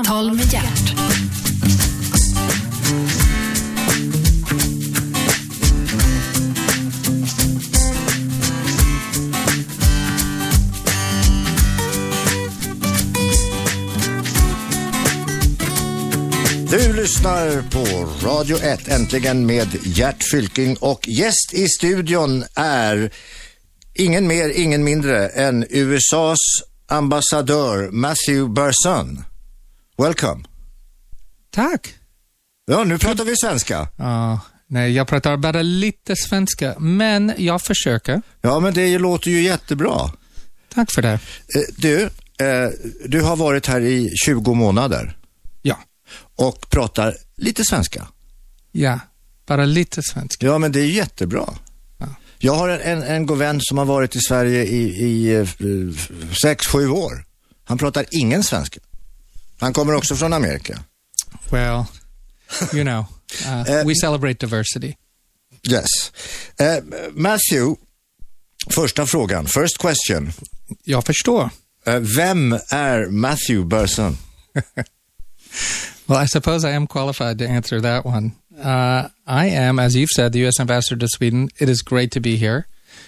Samtal med Gert. Du lyssnar på Radio 1, äntligen med Gert Fylking, och gäst i studion är ingen mer, ingen mindre än USAs ambassadör Matthew Berson. Welcome. Tack. Ja, nu pratar vi svenska. Nej, jag pratar bara lite svenska, men jag försöker. Ja, men det låter ju jättebra. Tack för det. Du har varit här i 20 månader. Ja. Och pratar lite svenska. Ja, bara lite svenska. Ja, men det är jättebra. Ja. Jag har en god vän som har varit i Sverige i 6-7 år. Han pratar ingen svenska. Han kommer också från Amerika. Well, you know, we celebrate diversity. Yes. Matthew, första frågan. First question. Jag förstår. Vem är Matthew Berson? Well, I suppose I am qualified to answer that one. I am, as you've said, the U.S. ambassador to Sweden. It is great to be here.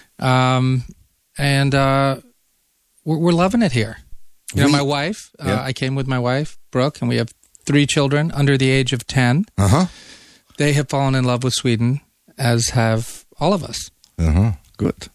We're loving it here. You know, my wife, I came with my wife, Brooke, and we have 3 children under the age of 10. Uh-huh. They have fallen in love with Sweden, as have all of us. Uh-huh. Good.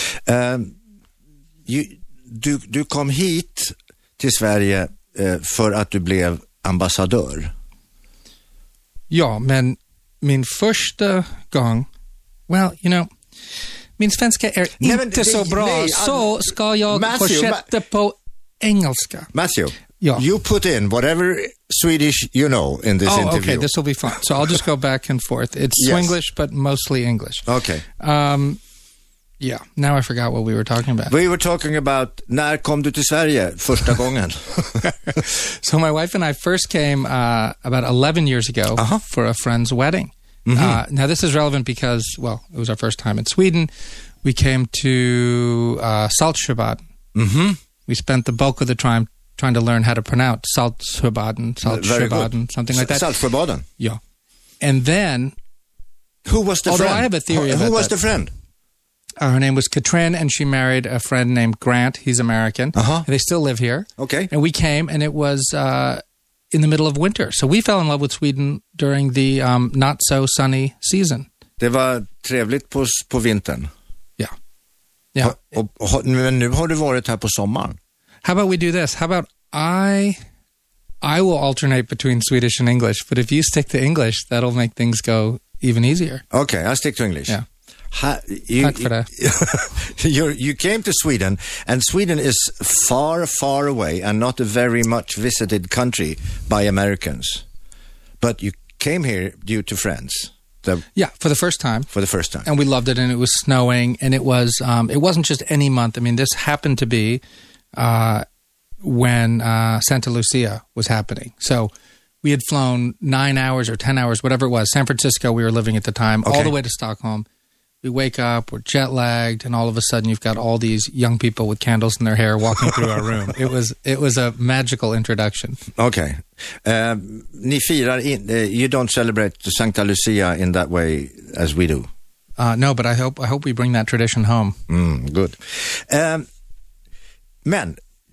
Du kom hit till Sverige för att du blev ambassadör. Ja, men min första gång, well, you know, min svenska är inte så bra, så ska jag fortsätta på engelska. Matthew, you put in whatever Swedish you know in this interview. Okay, this will be fun. So I'll just go back and forth. It's Swinglish, but mostly English. Okay. Yeah, now I forgot what we were talking about. We were talking about, när kom du till Sverige första gången? So my wife and I first came about 11 years ago for a friend's wedding. Mm-hmm. Now this is relevant because, well, it was our first time in Sweden. We came to Saltsjöbaden. Mm-hmm. We spent the bulk of the time trying to learn how to pronounce Saltsjöbaden, something like that. Saltsjöbaden? Yeah. And then... Who was the friend? I have a theory about Who was the friend? Her name was Katrin, and she married a friend named Grant. He's American. And they still live here. Okay. And we came, and it was in the middle of winter. So we fell in love with Sweden during the not-so-sunny season. Det var trevligt på vintern. Ja. Men nu har du varit här på sommaren. How about we do this? How about I will alternate between Swedish and English, but if you stick to English, that'll make things go even easier. Okay, I'll stick to English. Yeah. Tack för det. You came to Sweden, and Sweden is far, far away and not a very much visited country by Americans. But you came here due to friends. For the first time. For the first time. And we loved it, and it was snowing, and it wasn't just any month. I mean, this happened to be when Santa Lucia was happening. So we had flown 9 hours or 10 hours, whatever it was. San Francisco, we were living at the time, all the way to Stockholm. We wake up, we're jet-lagged, and all of a sudden you've got all these young people with candles in their hair walking through our room. It was a magical introduction. Okay. Ni firar you don't celebrate Santa Lucia in that way as we do. No, but I hope we bring that tradition home. Good. Men,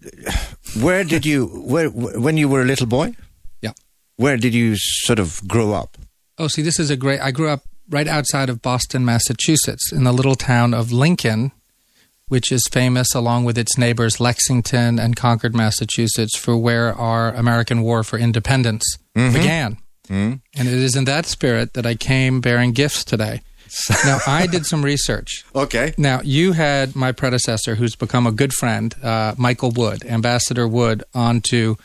when you were a little boy? Yeah. Where did you sort of grow up? Oh, see, this is I grew up right outside of Boston, Massachusetts, in the little town of Lincoln, which is famous along with its neighbors Lexington and Concord, Massachusetts, for where our American War for Independence began. Mm. And it is in that spirit that I came bearing gifts today. Now, I did some research. Okay. Now, you had my predecessor, who's become a good friend, Michael Wood, Ambassador Wood, onto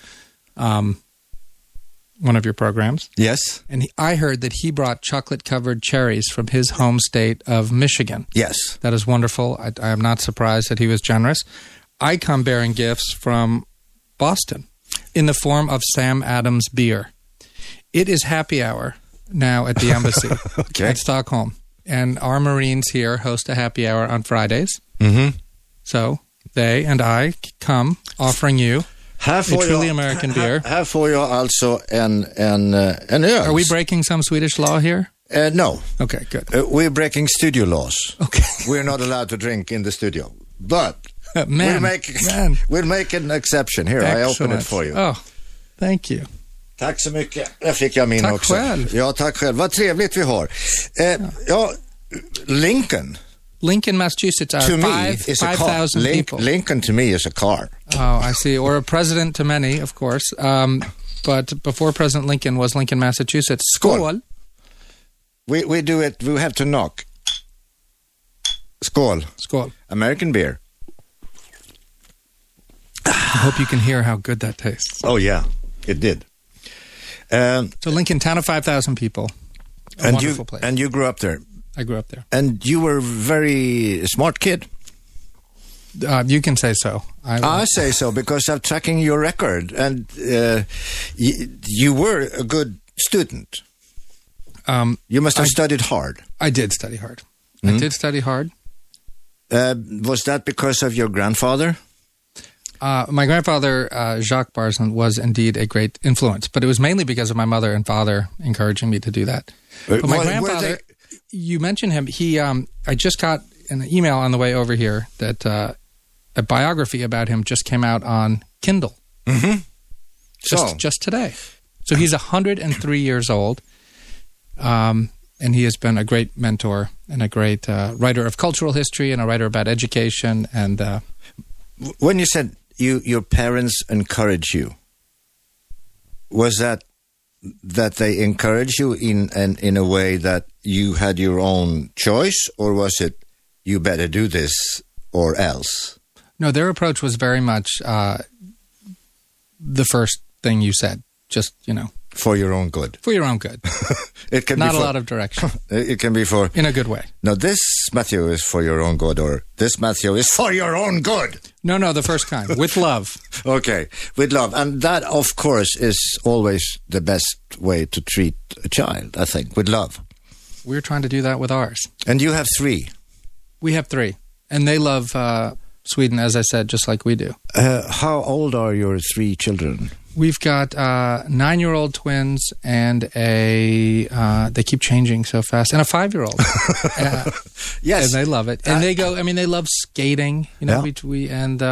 one of your programs. Yes. And I heard that he brought chocolate-covered cherries from his home state of Michigan. Yes. That is wonderful. I am not surprised that he was generous. I come bearing gifts from Boston in the form of Sam Adams beer. It is happy hour now at the embassy at Stockholm. And our Marines here host a happy hour on Fridays. Mm-hmm. So they and I come offering you Här får truly jag, American beer. Här får jag alltså en öl. Are we breaking some Swedish law here? No. Okay, good. We're breaking studio laws. Okay. We're not allowed to drink in the studio. But Man, we'll make an exception. Here, excellent. I open it for you. Oh, thank you. Tack så mycket. Där fick jag min tack också. Själv. Ja, tack själv. Vad trevligt vi har. Lincoln, Massachusetts are to me is 5,000 people. Lincoln to me is a car. Oh, I see. Or a president to many, of course. But before President Lincoln was Lincoln, Massachusetts. Skål. We do it. We have to knock. Skål. Skål. American beer. I hope you can hear how good that tastes. Oh, yeah. It did. So Lincoln, town of 5,000 people. A wonderful place. And you grew up there. I grew up there. And you were a very smart kid. You can say so. I say so because I'm tracking your record. And you were a good student. You must have studied hard. I did study hard. I did study hard. Was that because of your grandfather? My grandfather, Jacques Barzin, was indeed a great influence, but it was mainly because of my mother and father encouraging me to do that. But my grandfather, you mentioned him. He, I just got an email on the way over here that a biography about him just came out on Kindle. Mm-hmm. Just today. So he's 103 years old, and he has been a great mentor and a great writer of cultural history and a writer about education. And when you said your parents encourage you, was that they encouraged you in a way that you had your own choice, or was it you better do this or else? No, their approach was very much the first thing you said. Just, for your own good. For your own good. It can not be a lot of direction. It can be for in a good way. No, this Matthew is for your own good, or this Matthew is for your own good. No, the first kind, with love. Okay, with love, and that, of course, is always the best way to treat a child. I think with love. We're trying to do that with ours. And you have 3. We have 3, and they love Sweden, as I said, just like we do. How old are your 3 children? We've got 9-year-old twins and they keep changing so fast, and a 5-year-old. Yes. And they love it. And they love skating, and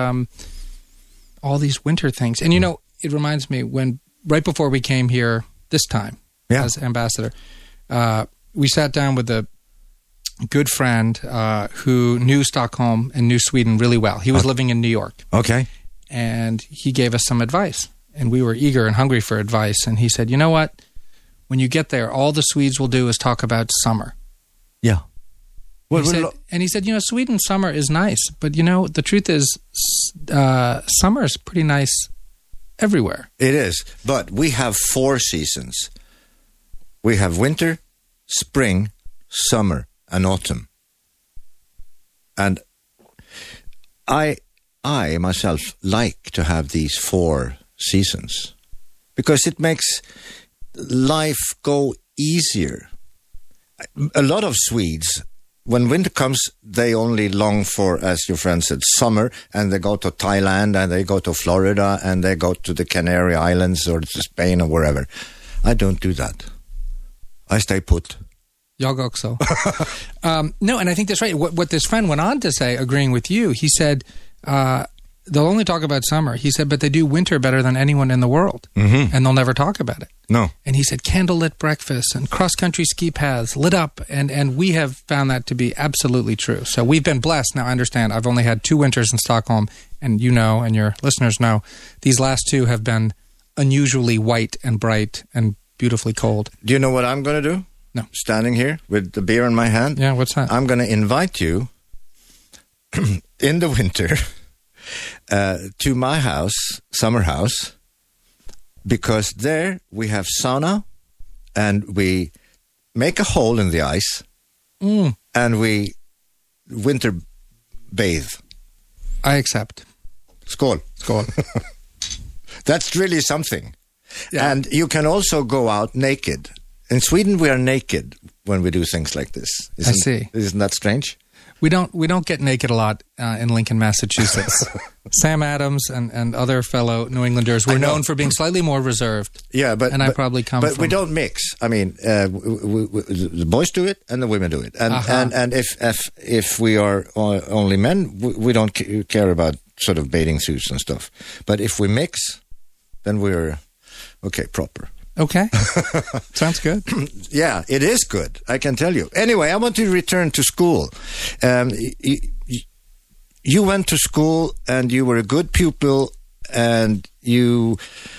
all these winter things. And, it reminds me right before we came here this time as ambassador, we sat down with a good friend who knew Stockholm and knew Sweden really well. He was living in New York. Okay. And he gave us some advice. And we were eager and hungry for advice. And he said, you know what? When you get there, all the Swedes will do is talk about summer. Yeah. He said, Sweden summer is nice. But, the truth is summer is pretty nice everywhere. It is. But we have 4 seasons. We have winter, spring, summer, and autumn. And I myself like to have these 4 seasons because it makes life go easier. A lot of Swedes, when winter comes, they only long for, as your friend said, summer, and they go to Thailand and they go to Florida and they go to the Canary Islands or to Spain or wherever. I don't do that. I stay put. Jag också. No, and I think that's right. What this friend went on to say, agreeing with you, he said, they'll only talk about summer. He said, but they do winter better than anyone in the world. Mm-hmm. And they'll never talk about it. No. And he said, candlelit breakfasts and cross-country ski paths lit up. And we have found that to be absolutely true. So we've been blessed. Now, I understand I've only had 2 winters in Stockholm. And and your listeners know, these last 2 have been unusually white and bright and beautifully cold. Do you know what I'm going to do? No. Standing here with the beer in my hand. Yeah, what's that? I'm going to invite you in the winter to my house, summer house, because there we have sauna and we make a hole in the ice and we winter bathe. I accept. Skål. Skål. That's really something. Yeah. And you can also go out naked. In Sweden, we are naked when we do things like this. I see. Isn't that strange? We don't get naked a lot in Lincoln, Massachusetts. Sam Adams and other fellow New Englanders were known for being slightly more reserved. Yeah, I probably come from... But we don't mix. I mean, the boys do it and the women do it. And if we are only men, we don't care about sort of bathing suits and stuff. But if we mix, then we're proper. Okay. Sounds good. Yeah, it is good, I can tell you. Anyway, I want to return to school. You went to school and you were a good pupil and you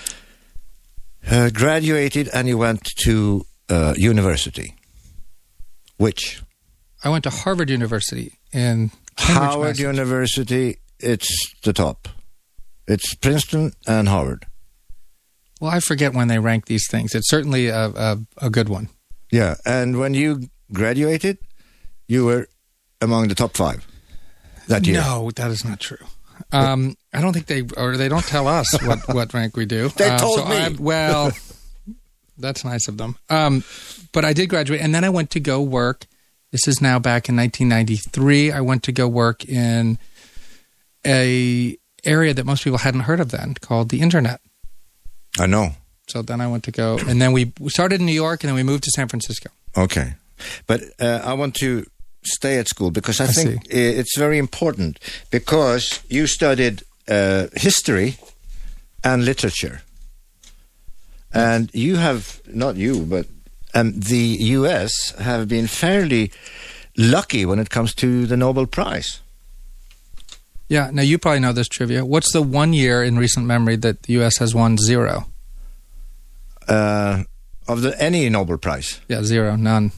graduated and you went to university. Which? I went to Harvard University in Cambridge, Howard University, it's the top. It's Princeton and Harvard. Well, I forget when they rank these things. It's certainly a good one. Yeah, and when you graduated, you were among the top 5 that year. No, that is not true. I don't think they don't tell us what rank we do. They told me. Well, that's nice of them. But I did graduate, and then I went to go work. This is now back in 1993. I went to go work in a area that most people hadn't heard of then, called the Internet. I know. So then I went to go, and then we started in New York, and then we moved to San Francisco. Okay. But I want to stay at school because I think it's very important because you studied history and literature. And you have, not you, but the U.S. have been fairly lucky when it comes to the Nobel Prize. Yeah, now you probably know this trivia. What's the one year in recent memory that the U.S. has won 0? Of any Nobel Prize? Yeah, 0, none.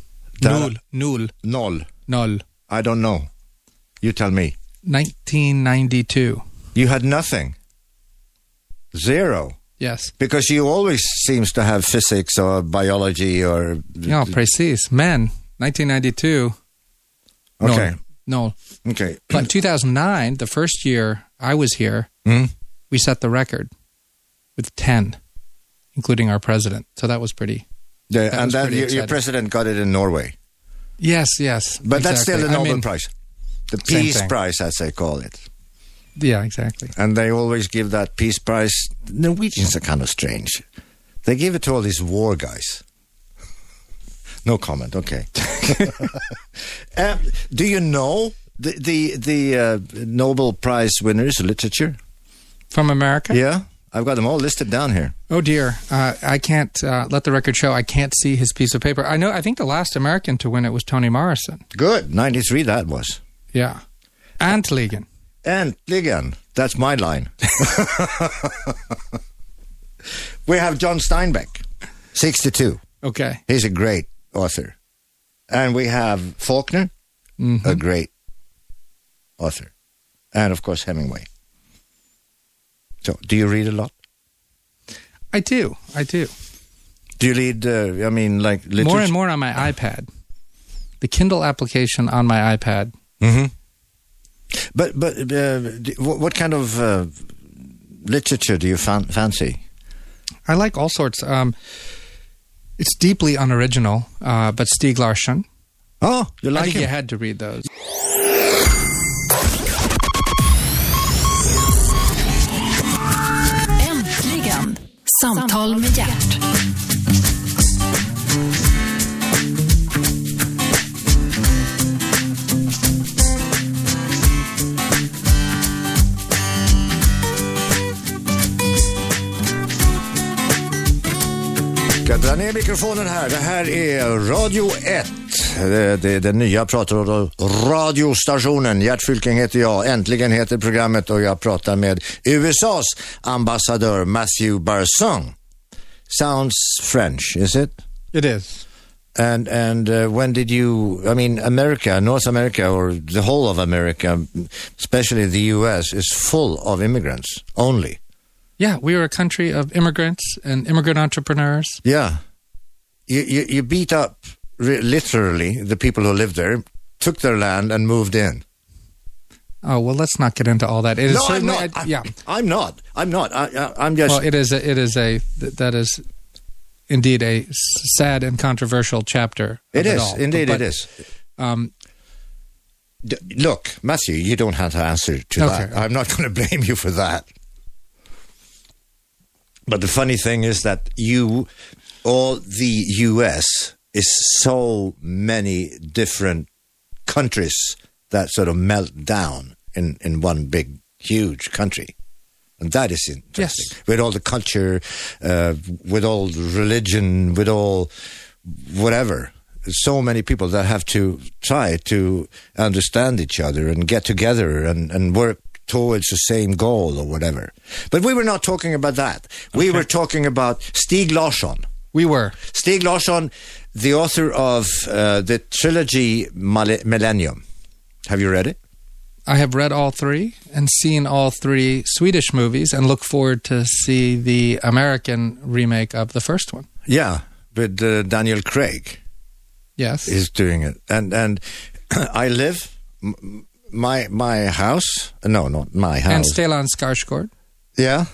Null. I don't know. You tell me. 1992. You had nothing? 0? Yes. Because you always seems to have physics or biology or... No, precis. Men, 1992. Okay. No. Okay. But 2009, the first year I was here, we set the record with 10, including our president. So that was pretty. Yeah, and then your president got it in Norway. Yes. But exactly. That's still the Nobel Prize. The Peace Prize, as they call it. Yeah, exactly. And they always give that Peace Prize. Norwegians are kind of strange. They give it to all these war guys. No comment. Okay. Do you know the Nobel Prize winners of literature from America? Yeah, I've got them all listed down here. Oh dear, I can't let the record show. I can't see his piece of paper. I think the last American to win it was Toni Morrison. Good, 93. That was. Yeah, Äntligen. Äntligen. That's my line. We have John Steinbeck, 62. Okay, he's a great author. And we have Faulkner, a great author. And, of course, Hemingway. So, do you read a lot? I do. Do you read, like literature? More and more on my iPad. The Kindle application on my iPad. Mm-hmm. But what kind of literature do you fancy? I like all sorts. It's deeply unoriginal, but Stieg Larsson. Oh, you like I think him? you had to read those. Äntligen! Samtal med Gert. Jag drar ner mikrofonen här. Det här är Radio 1. Det är den nya radiostationen. Gert Fylking heter jag. Äntligen heter programmet och jag pratar med USAs ambassadör Matthew Barson. Sounds French, is it? It is. And when did you, America, North America, or the whole of America, especially the U.S., is full of immigrants only. Yeah, we are a country of immigrants and immigrant entrepreneurs. Yeah. You beat up, literally, the people who lived there, took their land and moved in. Oh, well, let's not get into all that. It is No, I'm not. I'm not. I'm just... Well, that is indeed a sad and controversial chapter. It is. All. Indeed, but, it is. Look, Matthew, you don't have to answer to that. I'm not going to blame you for that. But the funny thing is that all the U.S. is so many different countries that sort of melt down in one big, huge country. And that is interesting. Yes. With all the culture, with all the religion, with all whatever. So many people that have to try to understand each other and get together and work towards the same goal or whatever. But we were not talking about that. We were talking about Stieg Larsson. We were. Stieg Larsson, the author of the trilogy Millennium. Have you read it? I have read all three and seen all three Swedish movies and look forward to see the American remake of the first one. Yeah, with Daniel Craig. Yes. Is doing it. And I live, my house, no, not my house. And Stellan Skarsgård. Yeah.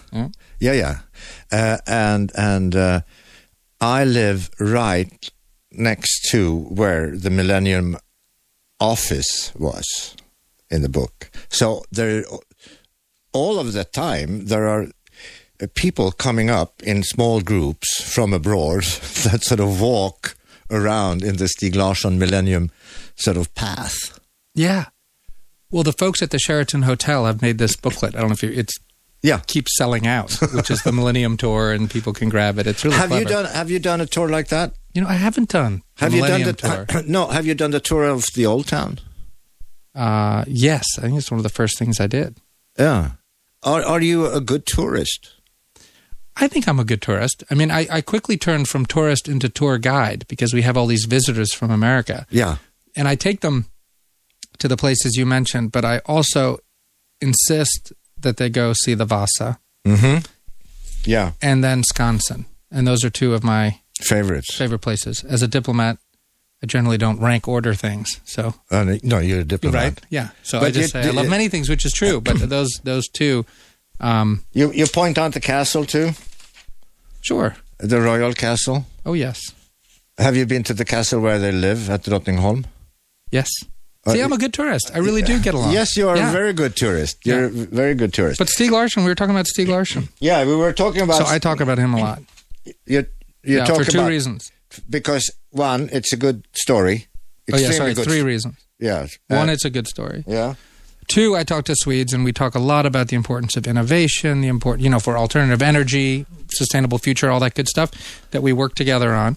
And I live right next to where the Millennium office was in the book. So there, all of the time, there are people coming up in small groups from abroad that sort of walk around in the Stieg Larsson Millennium sort of path. Yeah. Well, the folks at the Sheraton Hotel have made this booklet. I don't know if keeps selling out, which is the Millennium Tour, and people can grab it. It's really clever. Have you done a tour like that? You know, I haven't done the Millennium Tour. No, have you done the tour of the Old Town? Yes, I think it's one of the first things I did. Yeah. Are you a good tourist? I think I'm a good tourist. I mean, I quickly turned from tourist into tour guide because we have all these visitors from America. Yeah. And I take them to the places you mentioned, but I also insist that they go see the Vasa. Mm-hmm. Yeah. And then Skansen. And those are two of my favorite places. As a diplomat, I generally don't rank order things. So no, you're a diplomat. Right? Yeah. So I just say I love many things, which is true, but those two... You point out the castle too? Sure. The Royal Castle? Oh, yes. Have you been to the castle where they live at Drottningholm? Yes. See, I'm a good tourist. I really do get along. Yes, you are a very good tourist. You're a very good tourist. But Stieg Larsson, we were talking about Stieg Larsson. Yeah, we were talking about... So I talk about him a lot. You're talking for two reasons. Because, one, it's a good story. Three reasons. Yeah. One, it's a good story. Yeah. Two, I talk to Swedes, and we talk a lot about the importance of innovation, for alternative energy, sustainable future, all that good stuff that we work together on.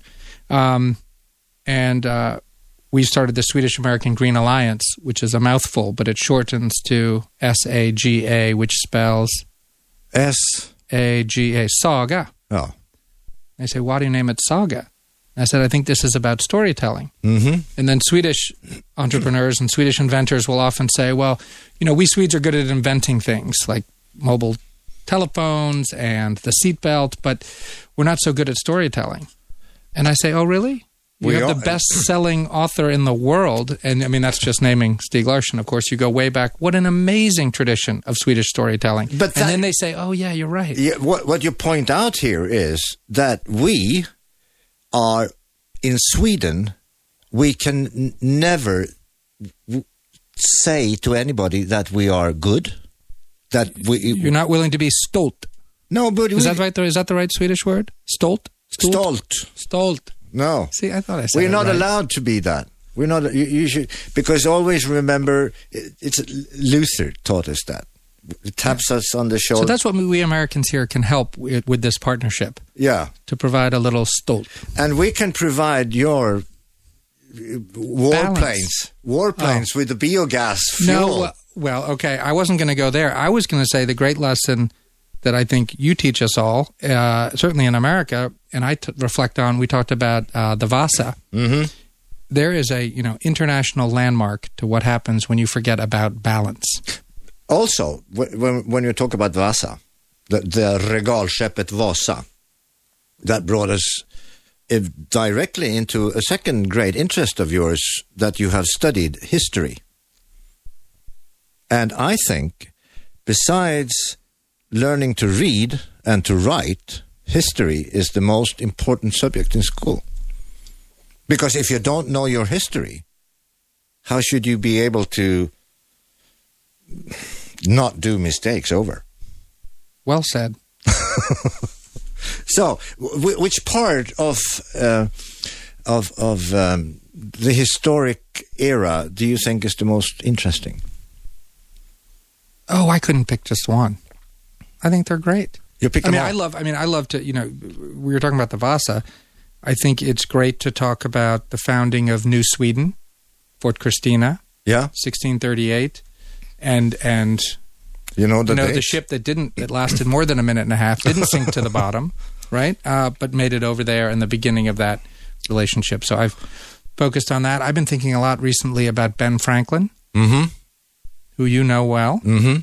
We started the Swedish-American Green Alliance, which is a mouthful, but it shortens to SAGA, which spells... SAGA, Saga. Oh. They say, why do you name it Saga? I said, I think this is about storytelling. Mm-hmm. And then Swedish entrepreneurs and Swedish inventors will often say, well, we Swedes are good at inventing things like mobile telephones and the seatbelt, but we're not so good at storytelling. And I say, oh, really? You have the best-selling author in the world. And, I mean, that's just naming Stieg Larsson, of course. You go way back. What an amazing tradition of Swedish storytelling. And then they say, oh, yeah, you're right. Yeah, what you point out here is that we are, in Sweden, we can never say to anybody that we are good. You're not willing to be stolt. No, but... Is that right? Is that the right Swedish word? Stolt? Stolt. No. See, I thought I said we're not right. allowed to be that. We're not. You should, because always remember, it's Luther taught us that. It taps us on the shoulder. So that's what we Americans here can help with this partnership. Yeah. To provide a little stolt. And we can provide your warplanes with the biogas fuel. No, well, okay. I wasn't going to go there. I was going to say the great lesson that I think you teach us all, certainly in America, and I reflect on, we talked about the Vasa. Mm-hmm. There is a international landmark to what happens when you forget about balance. Also, when you talk about Vasa, the regalskeppet Vasa, that brought us directly into a second great interest of yours, that you have studied history. And I think, besides learning to read and to write, history is the most important subject in school. Because if you don't know your history, how should you be able to not do mistakes over? Well said. So, which part of the historic era do you think is the most interesting? Oh, I couldn't pick just one. I think they're great. You pick them all. I love to, we were talking about the Vasa. I think it's great to talk about the founding of New Sweden, Fort Christina, 1638, and the ship that lasted more than a minute and a half, didn't sink to the bottom, right? But made it over there in the beginning of that relationship. So I've focused on that. I've been thinking a lot recently about Ben Franklin, who you know well.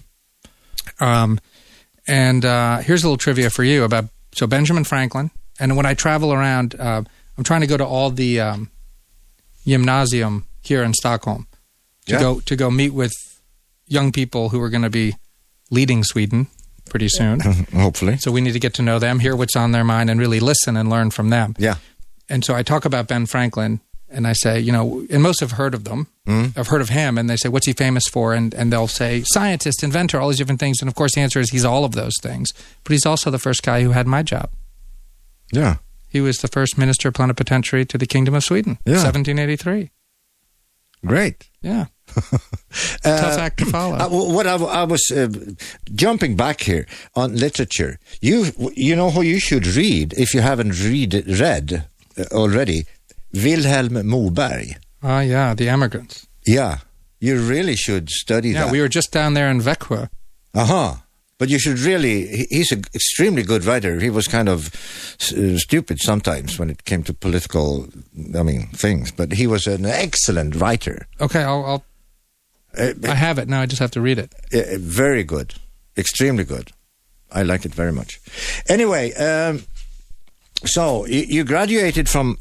And here's a little trivia for you about Benjamin Franklin. And when I travel around, I'm trying to go to all the gymnasium here in Stockholm to go meet with young people who are going to be leading Sweden pretty soon. Hopefully. So we need to get to know them, hear what's on their mind, and really listen and learn from them. Yeah. And so I talk about Ben Franklin, and I say, and most have heard of them. I've heard of him, and they say, what's he famous for? And they'll say, scientist, inventor, all these different things. And of course, the answer is he's all of those things. But he's also the first guy who had my job. Yeah. He was the first minister plenipotentiary to the Kingdom of Sweden, 1783. Great. Yeah. Tough act to follow. I was jumping back here on literature. You know who you should read if you haven't read already? Wilhelm Moberg. Oh, yeah, The Emigrants. Yeah, you really should study that. Yeah, we were just down there in Växjö. But you should really, he's an extremely good writer. He was kind of stupid sometimes when it came to political, things. But he was an excellent writer. Okay, I have it now. I just have to read it. Very good. Extremely good. I like it very much. Anyway, so you graduated from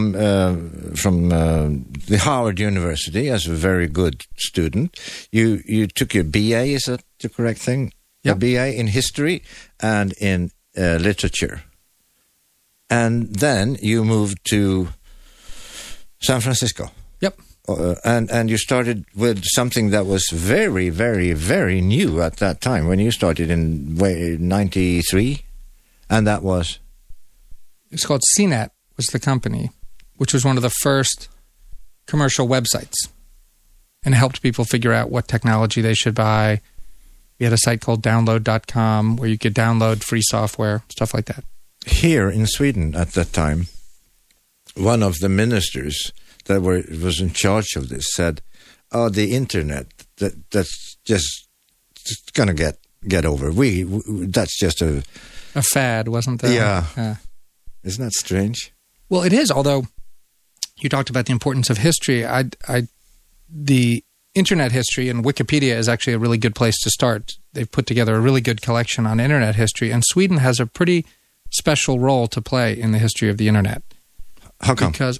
the Howard University as a very good student. You took your BA, is that the correct thing? Yep. A BA in history and in literature. And then you moved to San Francisco. Yep. And you started with something that was very, very, very new at that time when you started in 93, and that was? It's called CNET, was the company, which was one of the first commercial websites, and helped people figure out what technology they should buy. We had a site called download.com where you could download free software, stuff like that. Here in Sweden at that time, one of the ministers that was in charge of this said, the internet, that's just going to get over. That's just a fad, wasn't there? Yeah. Isn't that strange? Well, it is, although you talked about the importance of history. The internet history, and Wikipedia is actually a really good place to start. They've put together a really good collection on internet history, and Sweden has a pretty special role to play in the history of the internet. How come? Because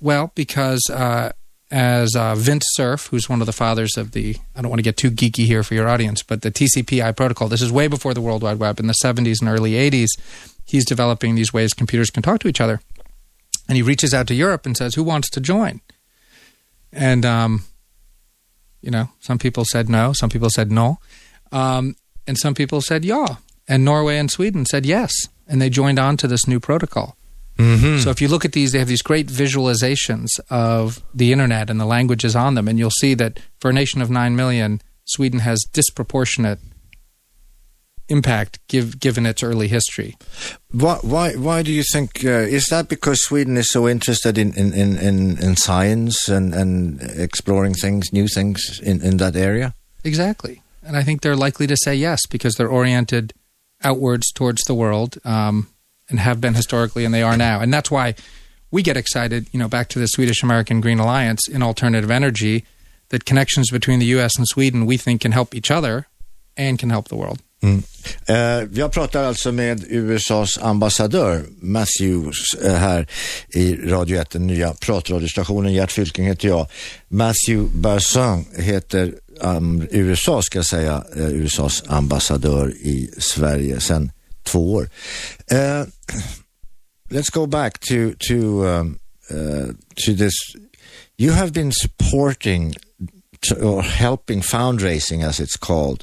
as Vint Cerf, who's one of the fathers of I don't want to get too geeky here for your audience, but the TCP/IP protocol, this is way before the World Wide Web, in the 70s and early 80s, he's developing these ways computers can talk to each other. And he reaches out to Europe and says, who wants to join? And, some people said no, some people said no, and some people said yeah. And Norway and Sweden said yes, and they joined on to this new protocol. Mm-hmm. So if you look at these, they have these great visualizations of the internet and the languages on them, and you'll see that for a nation of 9 million, Sweden has disproportionate impact given its early history. Why do you think, is that because Sweden is so interested in science and exploring things, new things in that area? Exactly. And I think they're likely to say yes, because they're oriented outwards towards the world, and have been historically, and they are now. And that's why we get excited, back to the Swedish-American Green Alliance in alternative energy, that connections between the U.S. and Sweden we think can help each other and can help the world. Jag pratar alltså med USAs ambassadör Matthews här i Radio 1, den nya pratradiostationen. Gert Fylking heter jag. Matthew Barson heter USA, ska jag säga, USAs ambassadör i Sverige sedan 2 år. Let's go back to this. You have been supporting or helping fundraising, as it's called,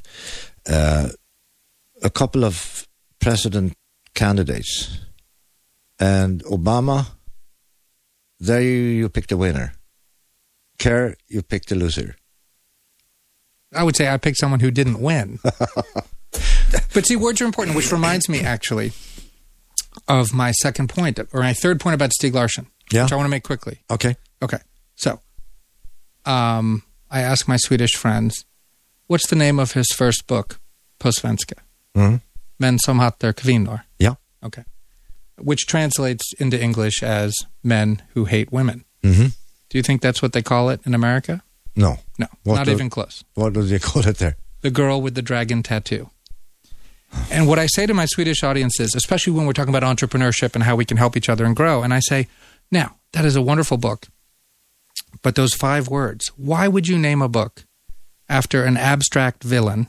a couple of president candidates. And Obama, there you picked a winner. Kerr, you picked a loser. I would say I picked someone who didn't win. But see, words are important, which reminds me, actually, of my second point, or my third point about Stieg Larsson, which I want to make quickly. Okay. So, I asked my Swedish friends, what's the name of his first book, på svenska? Men som hatar kvinnor. Yeah. Okay. Which translates into English as Men Who Hate Women. Mm-hmm. Do you think that's what they call it in America? No. No, not even close. What do they call it there? The Girl with the Dragon Tattoo. And what I say to my Swedish audience is, especially when we're talking about entrepreneurship and how we can help each other and grow, and I say, now, that is a wonderful book, but those 5 words, why would you name a book after an abstract villain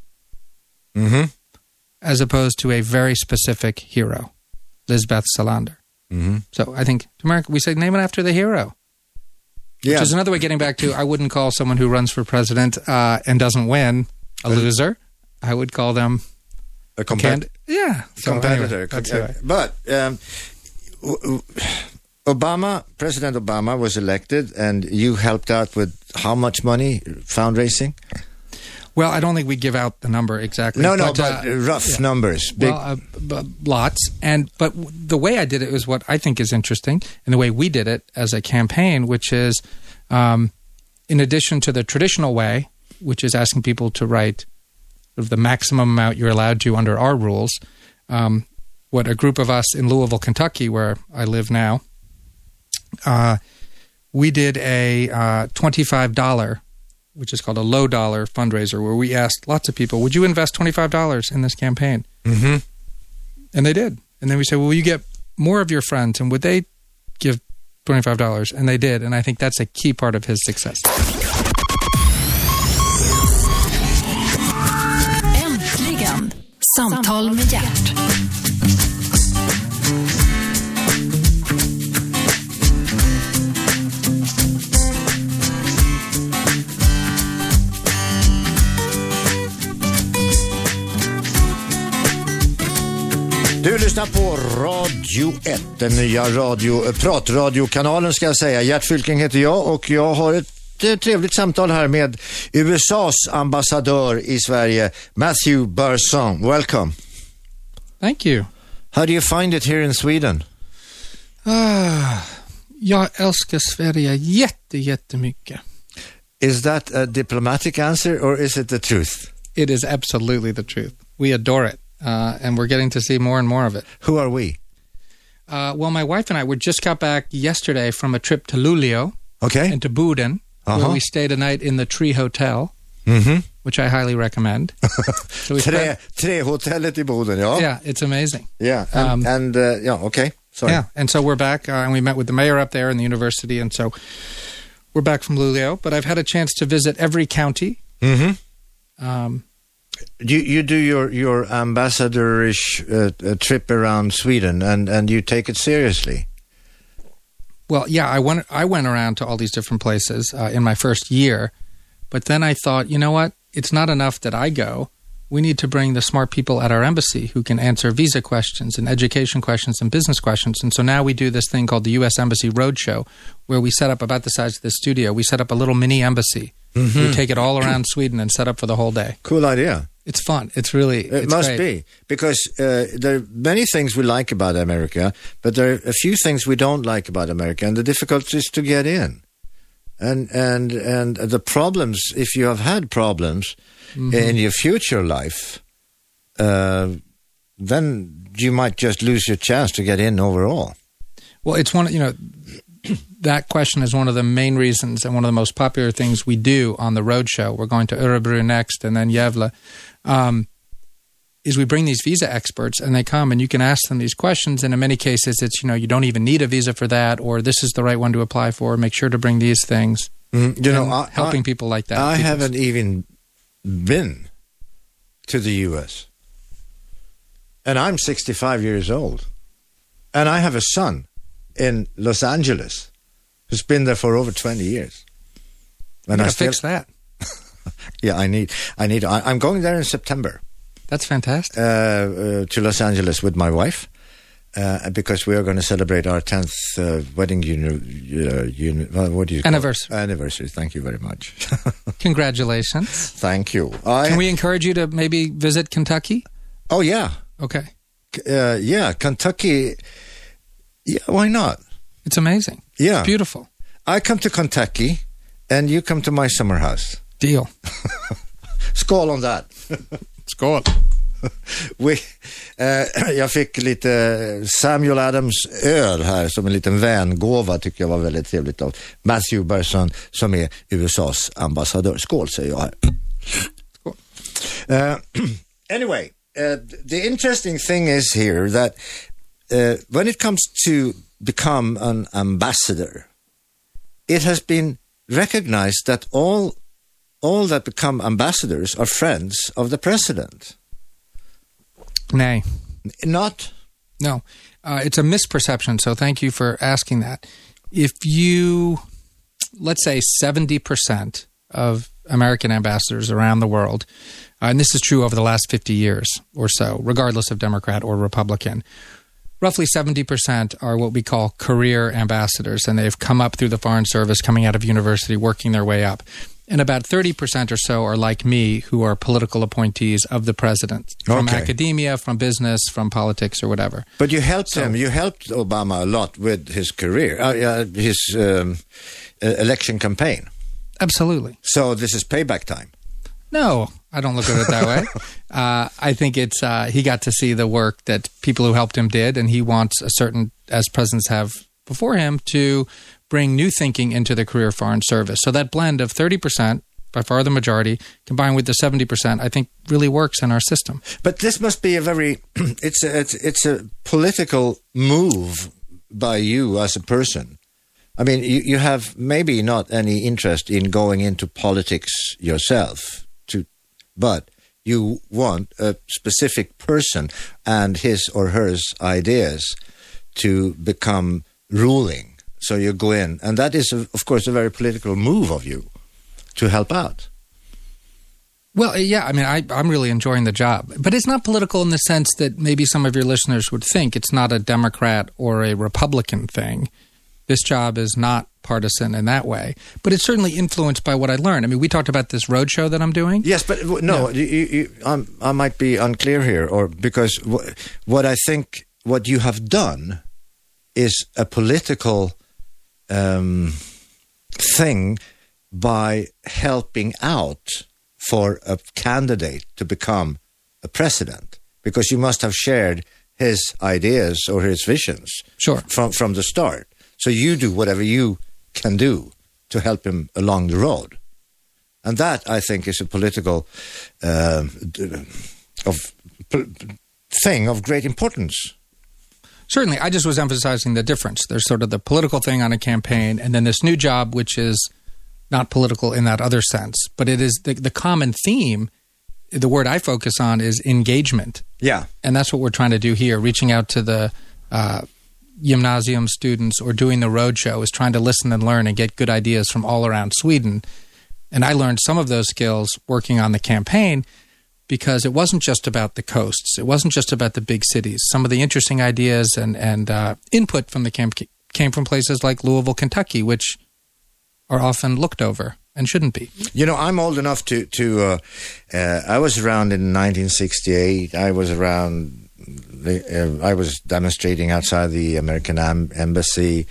as opposed to a very specific hero, Lisbeth Salander? So I think to America, we say name it after the hero. Yeah. Which is another way getting back to, I wouldn't call someone who runs for president and doesn't win a loser. I would call them a competitor. Competitor. Anyway, but President Obama was elected, and you helped out with how much money fundraising? Well, I don't think we give out the number exactly. But rough numbers. Big. Well, lots. But the way I did it was what I think is interesting, and the way we did it as a campaign, which is, in addition to the traditional way, which is asking people to write sort of the maximum amount you're allowed to under our rules, what a group of us in Louisville, Kentucky, where I live now, we did a $25, which is called a low dollar fundraiser, where we asked lots of people, would you invest $25 in this campaign? Mm-hmm. And they did. And then we said, well, will you get more of your friends, and would they give $25? And they did. And I think that's a key part of his success. Äntligen, Samtal med Gert. Du lyssnar på Radio 1, den nya pratradiokanalen ska jag säga. Gert Fylking heter jag, och jag har ett trevligt samtal här med USAs ambassadör i Sverige, Matthew Burson. Welcome. Thank you. How do you find it here in Sweden? Jag älskar Sverige jättemycket. Is that a diplomatic answer, or is it the truth? It is absolutely the truth. We adore it. And we're getting to see more and more of it. Who are we? Well, my wife and I just got back yesterday from a trip to Luleå and to Boden, where we stayed a night in the Tree Hotel, which I highly recommend. So Trähotellet i Boden, ja. Yeah, it's amazing. Yeah, sorry. Yeah, and so we're back, and we met with the mayor up there and the university, and so we're back from Luleå. But I've had a chance to visit every county. You do your ambassadorish trip around Sweden, and you take it seriously. Well, yeah, I went around to all these different places in my first year, but then I thought, you know what? It's not enough that I go. We need to bring the smart people at our embassy who can answer visa questions and education questions and business questions. And so now we do this thing called the U.S. Embassy Roadshow, where we set up about the size of this studio. We set up a little mini embassy. We take it all around Sweden and set up for the whole day. Cool idea. It's fun. It must great. be, because there are many things we like about America, but there are a few things we don't like about America, and the difficulty is to get in. And the problems, if you have had problems in your future life, then you might just lose your chance to get in overall. Well, it's that question is one of the main reasons and one of the most popular things we do on the roadshow. We're going to Örebro next and then Gävle. Is we bring these visa experts, and they come and you can ask them these questions. And in many cases, it's, you don't even need a visa for that, or this is the right one to apply for. Make sure to bring these things. Helping people like that. I haven't even been to the U.S. And I'm 65 years old. And I have a son in Los Angeles who's been there for over 20 years. And I fix that. Yeah, I'm going there in September. That's fantastic. To Los Angeles with my wife. Because we are going to celebrate our 10th wedding what do you anniversary. Call it? Anniversary. Thank you very much. Congratulations. Thank you. Can we encourage you to maybe visit Kentucky? Oh, yeah. Okay. Kentucky. Yeah, why not? It's amazing. Yeah. It's beautiful. I come to Kentucky and you come to my summer house. Deal. Skål on that. Skål. Jag fick lite Samuel Adams öl här som en liten vängåva, tycker jag var väldigt trevligt av Matthew Berson som är USAs ambassadör. Skål, säger jag här. Skål. Anyway, the interesting thing is here that when it comes to become an ambassador, it has been recognized that all that become ambassadors are friends of the president. Nay. Not? No. It's a misperception, so thank you for asking that. If you, let's say 70% of American ambassadors around the world, and this is true over the last 50 years or so, regardless of Democrat or Republican, roughly 70% are what we call career ambassadors, and they've come up through the Foreign Service, coming out of university, working their way up. And about 30% or so are like me, who are political appointees of the president, from academia, from business, from politics, or whatever. But you helped him. You helped Obama a lot with his career, his election campaign. Absolutely. So this is payback time. No, I don't look at it that way. I think it's he got to see the work that people who helped him did, and he wants a certain, as presidents have before him, to bring new thinking into the career Foreign Service. So that blend of 30%, by far the majority, combined with the 70%, I think really works in our system. But this must be a very, it's a political move by you as a person. I mean, you have maybe not any interest in going into politics yourself, but you want a specific person and his or her ideas to become ruling. So you go in, and that is, of course, a very political move of you to help out. Well, yeah, I mean, I'm really enjoying the job. But it's not political in the sense that maybe some of your listeners would think. It's not a Democrat or a Republican thing. This job is not partisan in that way. But it's certainly influenced by what I learned. I mean, we talked about this roadshow that I'm doing. Yes, but no, I might be unclear here, or because what I think what you have done is a political thing by helping out for a candidate to become a president, because you must have shared his ideas or his visions from the start. So you do whatever you can do to help him along the road. And that, I think, is a political thing of great importance. Certainly. I just was emphasizing the difference. There's sort of the political thing on a campaign, and then this new job, which is not political in that other sense. But it is the common theme. The word I focus on is engagement. Yeah. And that's what we're trying to do here, reaching out to the gymnasium students or doing the roadshow, is trying to listen and learn and get good ideas from all around Sweden. And I learned some of those skills working on the campaign, because it wasn't just about the coasts. It wasn't just about the big cities. Some of the interesting ideas and input from the camp came from places like Louisville, Kentucky, which are often looked over and shouldn't be. You know, I'm old enough to I was around in 1968. I was around, I was demonstrating outside the American embassy.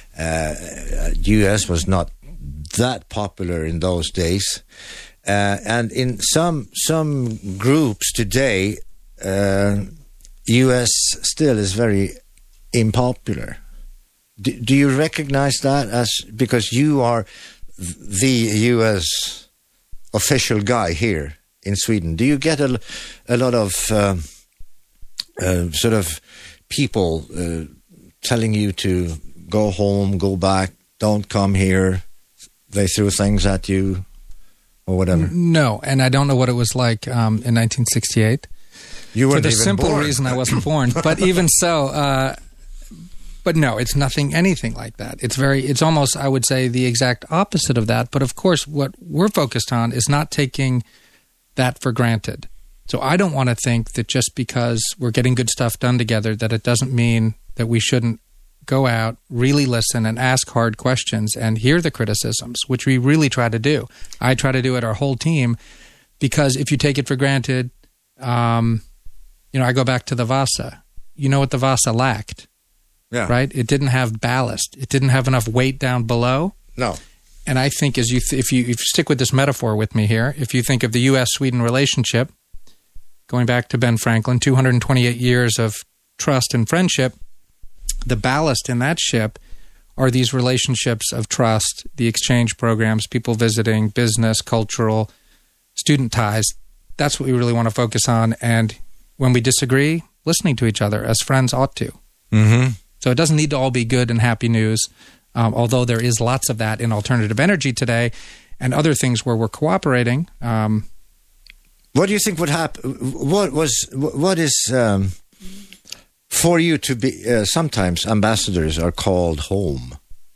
U.S. was not that popular in those days. And in some groups today, U.S. still is very unpopular. Do you recognize that as, because you are the U.S. official guy here in Sweden? Do you get a lot of sort of people telling you to go home, go back, don't come here? They threw things at you or whatever? No, and I don't know what it was like in 1968. You weren't for the even simple born. reason I wasn't born. But even so, But no, it's anything like that. It's almost, I would say, the exact opposite of that. But of course, what we're focused on is not taking that for granted. So I don't want to think that just because we're getting good stuff done together, that it doesn't mean that we shouldn't go out, really listen, and ask hard questions and hear the criticisms, which we really try to do. I try to do it, our whole team, because if you take it for granted, I go back to the Vasa. You know what the Vasa lacked, right? It didn't have ballast. It didn't have enough weight down below. No. And I think if you stick with this metaphor with me here, if you think of the U.S.-Sweden relationship, going back to Ben Franklin, 228 years of trust and friendship, the ballast in that ship are these relationships of trust, the exchange programs, people visiting, business, cultural, student ties. That's what we really want to focus on. And when we disagree, listening to each other as friends ought to. Mm-hmm. So it doesn't need to all be good and happy news, although there is lots of that in alternative energy today and other things where we're cooperating. What do you think would happen? What is for you to be? Sometimes ambassadors are called home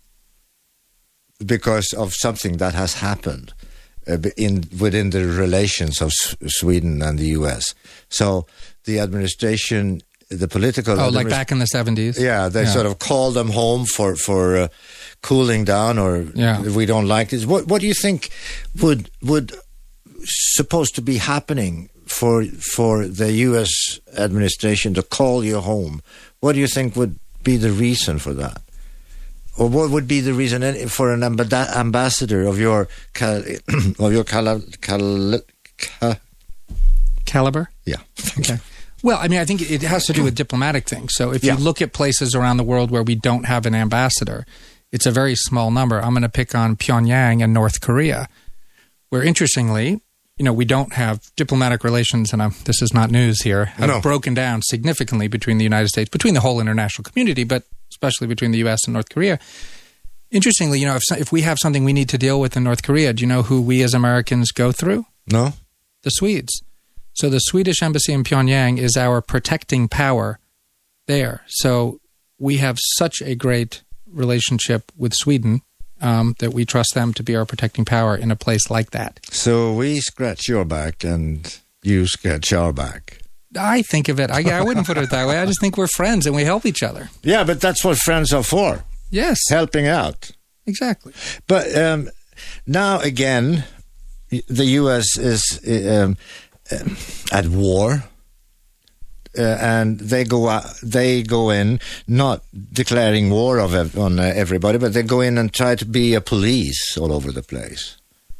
because of something that has happened within the relations of Sweden and the U.S. So the administration, the political... like back in the 70s? Yeah, they sort of call them home for cooling down, or we don't like this. What do you think would supposed to be happening for the U.S. administration to call you home? What do you think would be the reason for that? Or what would be the reason for an ambassador of your caliber? Yeah. Okay. Well, I mean, I think it has to do with diplomatic things. So if you look at places around the world where we don't have an ambassador, it's a very small number. I'm going to pick on Pyongyang and North Korea, where interestingly, we don't have diplomatic relations, and this is not news here, have broken down significantly between the United States, between the whole international community, but especially between the U.S. and North Korea. Interestingly, if we have something we need to deal with in North Korea, do you know who we as Americans go through? No. The Swedes. So the Swedish embassy in Pyongyang is our protecting power there. So we have such a great relationship with Sweden that we trust them to be our protecting power in a place like that. So we scratch your back and you scratch our back. I think of it. I wouldn't put it that way. I just think we're friends and we help each other. Yeah, but that's what friends are for. Yes. Helping out. Exactly. But now again, the U.S. is at war. And they go in, not declaring war on everybody, but they go in and try to be a police all over the place.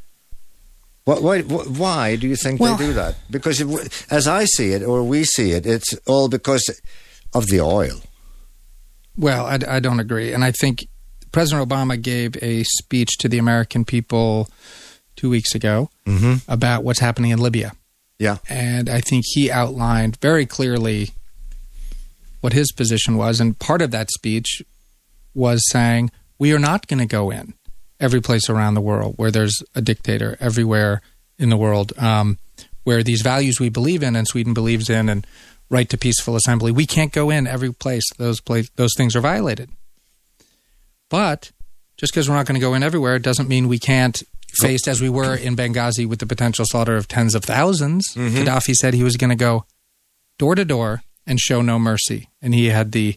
Why do you think they do that? Because as I see it, or we see it, it's all because of the oil. Well, I don't agree. And I think President Obama gave a speech to the American people 2 weeks ago about what's happening in Libya. Yeah. And I think he outlined very clearly what his position was. And part of that speech was saying, we are not going to go in every place around the world where there's a dictator, everywhere in the world, where these values we believe in and Sweden believes in, and right to peaceful assembly. We can't go in every place those things are violated. But just because we're not going to go in everywhere doesn't mean we can't, faced as we were in Benghazi with the potential slaughter of tens of thousands. Gaddafi said he was going to go door to door and show no mercy, and he had the,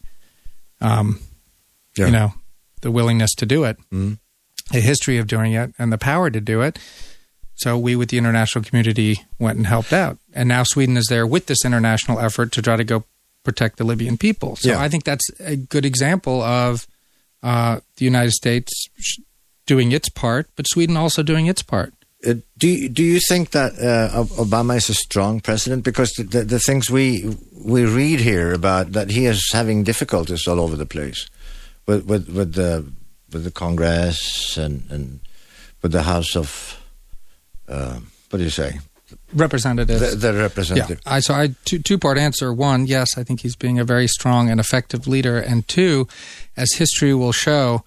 the willingness to do it, a history of doing it, and the power to do it. So we, with the international community, went and helped out, and now Sweden is there with this international effort to try to go protect the Libyan people. So I think that's a good example of the United States doing its part, but Sweden also doing its part. Do you think that Obama is a strong president? Because the things we read here about that he is having difficulties all over the place with the Congress and with the House of what do you say? Representatives. The representative. Yeah. So I two-part answer. One, yes, I think he's being a very strong and effective leader. And two, as history will show,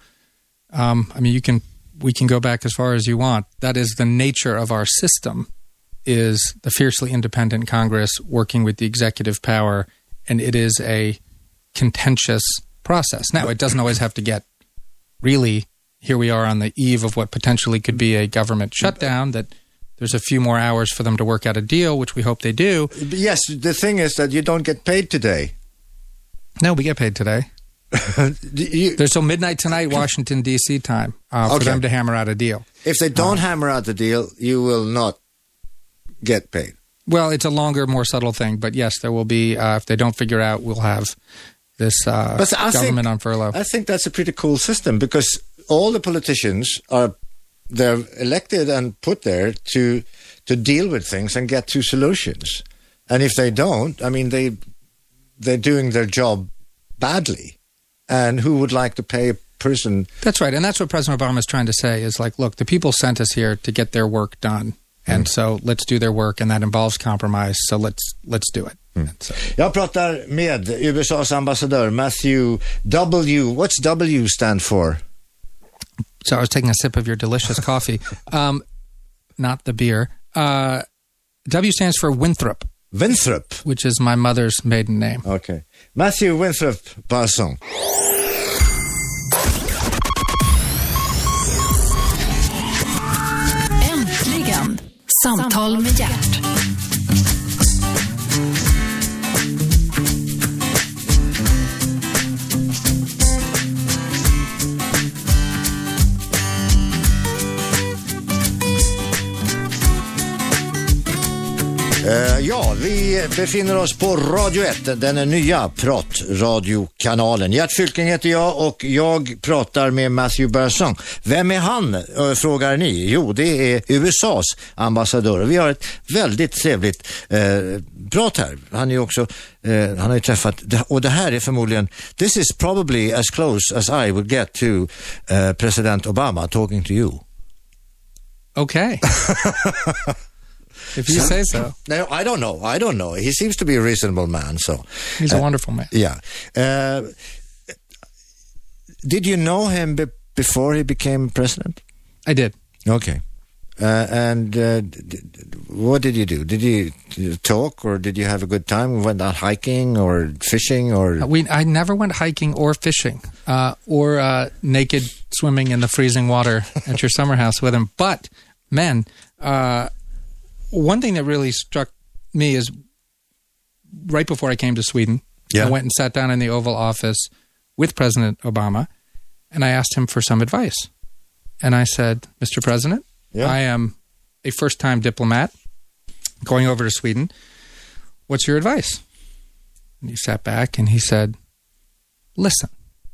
we can go back as far as you want. That is the nature of our system, is the fiercely independent Congress working with the executive power, and it is a contentious process. Now, it doesn't always have to get really, here we are on the eve of what potentially could be a government shutdown, that there's a few more hours for them to work out a deal, which we hope they do. Yes, the thing is that you don't get paid today. No, we get paid today. There's till midnight tonight, Washington, D.C. time, for them to hammer out a deal. If they don't hammer out the deal, you will not get paid. Well, it's a longer, more subtle thing. But yes, there will be, if they don't figure out, we'll have this government on furlough. I think that's a pretty cool system, because all the politicians they're elected and put there to deal with things and get to solutions. And if they don't, I mean, they're doing their job badly. And who would like to pay a person? That's right. And that's what President Obama is trying to say is like, look, the people sent us here to get their work done. And so let's do their work, and that involves compromise. So let's do it. So. Jag pratar med USAs ambassadör Matthew W. What's W stand for? So I was taking a sip of your delicious coffee, not the beer. W stands for Winthrop. Winthrop, which is my mother's maiden name. Okay, Matthew Winthrop Balsong. Äntligen, Samtal med Gert. Ja, vi befinner oss på Radio 1, den nya pratradiokanalen. Gert Fylking heter jag och jag pratar med Matthew Balsong. Vem är han, frågar ni? Jo, det är USAs ambassadör. Vi har ett väldigt trevligt prat här. Han är också, han har ju träffat, och det här är förmodligen, this is probably as close as I would get to President Obama talking to you. Okay. If you say so. No, I don't know. He seems to be a reasonable man. So he's a wonderful man. Yeah. Did you know him before he became president? I did. Okay. And what did you do? Did you talk, or did you have a good time? Went out hiking or fishing, or? I never went hiking or fishing, or naked swimming in the freezing water at your summer house with him. But men. One thing that really struck me is right before I came to Sweden, I went and sat down in the Oval Office with President Obama, and I asked him for some advice. And I said, Mr. President, I am a first-time diplomat going over to Sweden. What's your advice? And he sat back and he said, listen.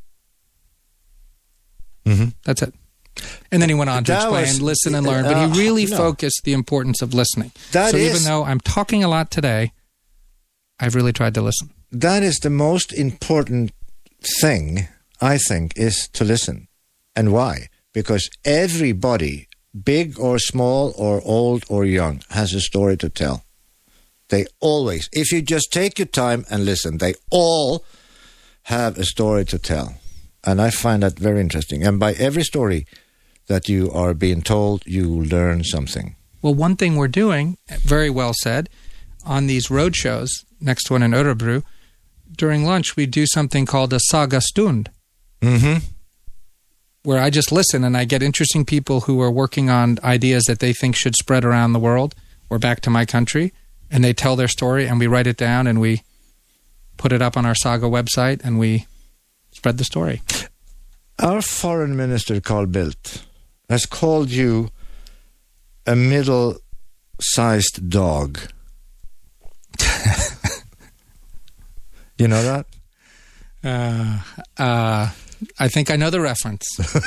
Mm-hmm. That's it. And then he went on to explain, listen and learn. But he really focused the importance of listening. Even though I'm talking a lot today, I've really tried to listen. That is the most important thing, I think, is to listen. And why? Because everybody, big or small or old or young, has a story to tell. They always, if you just take your time and listen, they all have a story to tell. And I find that very interesting. And by every story that you are being told, you learn something. Well, one thing we're doing, very well said, on these road shows, next one in Örebro, during lunch we do something called a saga stund, where I just listen and I get interesting people who are working on ideas that they think should spread around the world or back to my country, and they tell their story and we write it down and we put it up on our Saga website and we spread the story. Our foreign minister, Carl Bildt, has called you a middle-sized dog. You know that? I think I know the reference.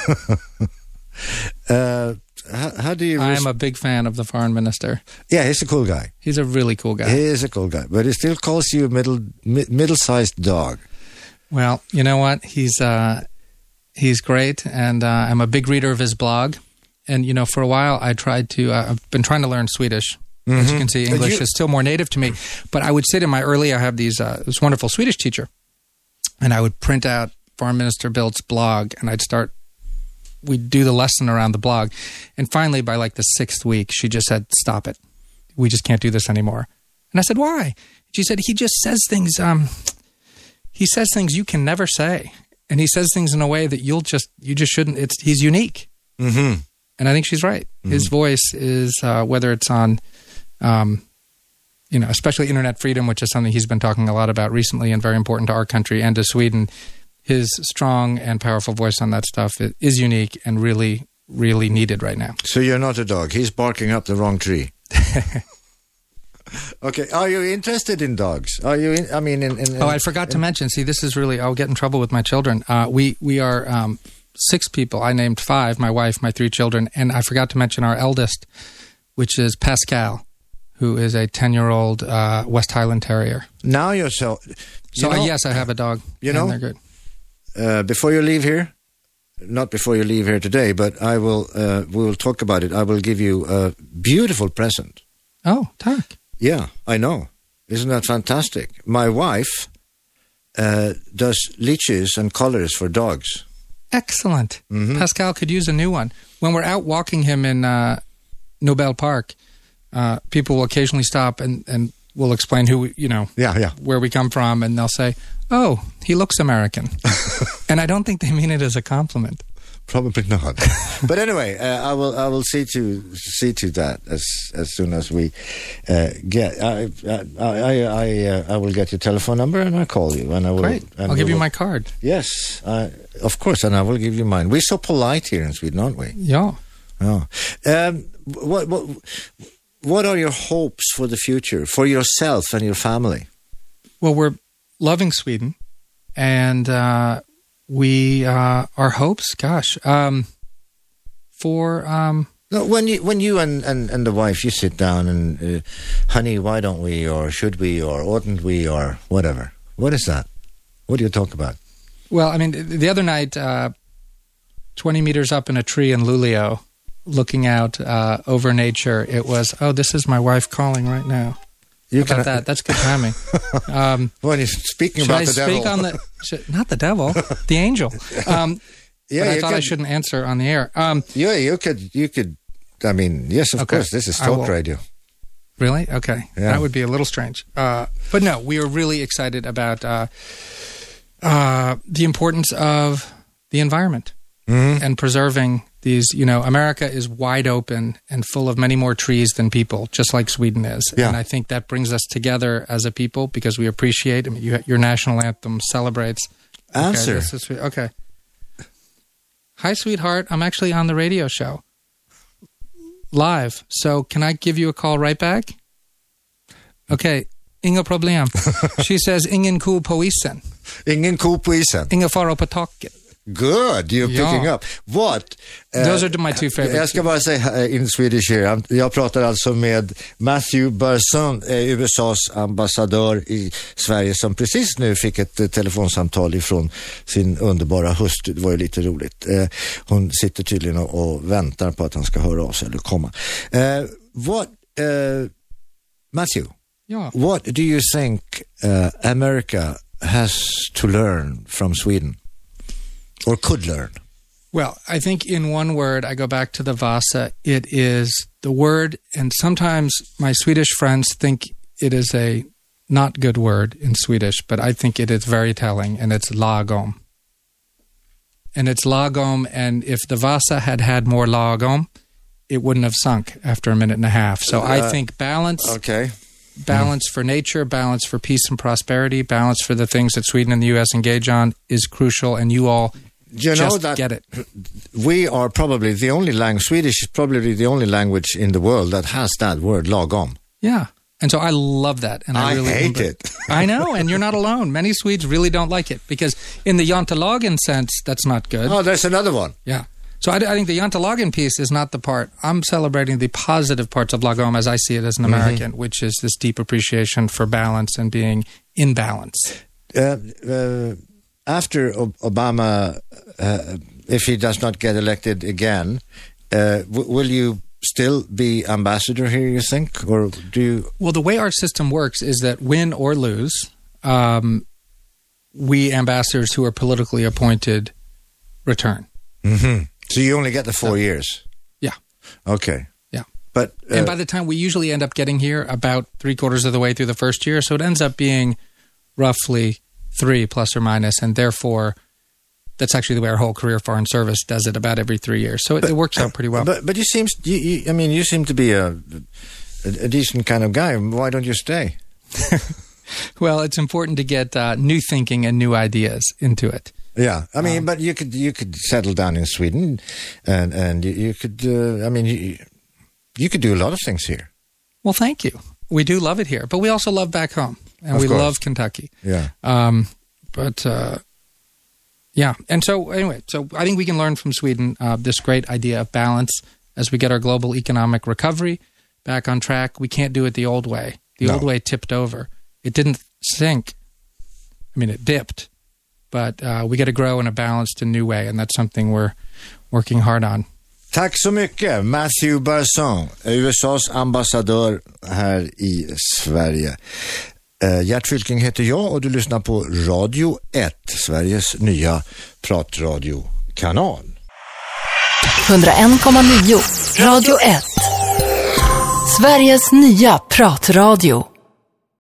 How do you... I am a big fan of the foreign minister. Yeah, he's a cool guy. He's a really cool guy. He is a cool guy, but he still calls you a middle-sized dog. Well, you know what? He's great, and I'm a big reader of his blog. And, you know, for a while I've been trying to learn Swedish. As you can see, English is still more native to me. But I would sit in my early, I have this wonderful Swedish teacher, and I would print out Foreign Minister Bildt's blog, and we'd do the lesson around the blog. And finally, by like the 6th week, she just said, stop it. We just can't do this anymore. And I said, why? She said, he just says things, he says things you can never say. and he says things in a way that you just shouldn't. He's unique, Mm-hmm. and I think she's right. His voice is whether it's on, especially internet freedom, which is something he's been talking a lot about recently, and very important to our country and to Sweden. His strong and powerful voice on that stuff is unique and really, really needed right now. So you're not a dog. He's barking up the wrong tree. Okay. Are you interested in dogs? Are you? I forgot to mention. See, this is really. I'll get in trouble with my children. We are 6 people. I named 5. My wife, my 3 children, and I forgot to mention our eldest, which is Pascal, who is a 10-year-old West Highland Terrier. Now you're so. Yes, I have a dog. And they're good. Before you leave here, not before you leave here today, but we will talk about it. I will give you a beautiful present. Oh, tack. Yeah, I know. Isn't that fantastic? My wife does leashes and collars for dogs. Excellent. Mm-hmm. Pascal could use a new one. When we're out walking him in Nobel Park, people will occasionally stop and we'll explain where we come from, and they'll say, "Oh, he looks American." And I don't think they mean it as a compliment. Probably not. But anyway, I will see to that as soon as we get. I will get your telephone number and I'll call you. And I will. Great. I'll give you my card. Yes, of course, and I will give you mine. We're so polite here in Sweden, aren't we? Yeah. Oh. What are your hopes for the future, for yourself and your family? Well, we're loving Sweden, and our hopes, No, when you and the wife, you sit down and, honey, why don't we, or should we, or oughtn't we, or whatever. What is that? What do you talk about? Well, I mean, the other night, 20 meters up in a tree in Luleå, looking out over nature, it was, this is my wife calling right now. That? That's good timing. When you're speaking about the devil. Not the devil, the angel. But I thought I shouldn't answer on the air. You could. I mean, yes, of course. This is talk radio. Really? Okay. Yeah. That would be a little strange. But no, we are really excited about the importance of the environment and preserving these. America is wide open and full of many more trees than people, just like Sweden is. Yeah. And I think that brings us together as a people because we appreciate. I mean, your national anthem celebrates. Answer. Okay. Hi, sweetheart. I'm actually on the radio show. Live. So can I give you a call right back? Okay. Inga problem. She says, ingen ko på isen. Ingen ko på isen. Inga fara på taket. Good, you're picking up. What? Those are my 2 favorites. Jag ska bara säga in Swedish here. Jag pratar alltså med Matthew Burson, USAs ambassadör i Sverige, som precis nu fick ett telefonsamtal ifrån sin underbara hustru. Det var ju lite roligt. Hon sitter tydligen och väntar på att han ska höra av sig eller komma. Matthew, what do you think America has to learn from Sweden? Or could learn? Well, I think in one word, I go back to the Vasa. It is the word, and sometimes my Swedish friends think it is a not good word in Swedish, but I think it is very telling, and it's lagom. And it's lagom, and if the Vasa had had more lagom, it wouldn't have sunk after a minute and a half. So I think balance. Okay. Balance for nature, balance for peace and prosperity, balance for the things that Sweden and the U.S. engage on is crucial, and you all just get it. We are probably the only language, Swedish is probably the only language in the world that has that word, lagom. Yeah. And so I love that. And I really hate it. I know, and you're not alone. Many Swedes really don't like it because in the Jantelagen sense, that's not good. Oh, there's another one. Yeah. So I think the Jantelagen piece is not the part. I'm celebrating the positive parts of lagom as I see it as an American, which is this deep appreciation for balance and being in balance. After Obama, if he does not get elected again, will you still be ambassador here, you think? Or do you... Well, the way our system works is that win or lose, we ambassadors who are politically appointed return. Mm-hmm. So you only get the 4 years? Yeah. Okay. Yeah. But and by the time we usually end up getting here about 3/4 of the way through the first year, so it ends up being roughly 3 plus or minus, and therefore that's actually the way our whole career foreign service does it about every 3 years. So it works out pretty well. But you seem to be a decent kind of guy. Why don't you stay? Well, it's important to get new thinking and new ideas into it. Yeah, I mean, but you could settle down in Sweden, and you could. You could do a lot of things here. Well, thank you. We do love it here, but we also love back home, and we love Kentucky. Yeah. Yeah. And so anyway, so I think we can learn from Sweden this great idea of balance as we get our global economic recovery back on track. We can't do it the old way. The old way tipped over. It didn't sink. I mean, it dipped. But we got to grow in a balanced and new way, and that's something we're working hard on. Tack så mycket, Matthew Barson, USAs ambassadör här i Sverige. Gert Fylking heter jag och du lyssnar på Radio 1, Sveriges nya pratradiokanal. 101,9 Radio 1. Sveriges nya pratradio.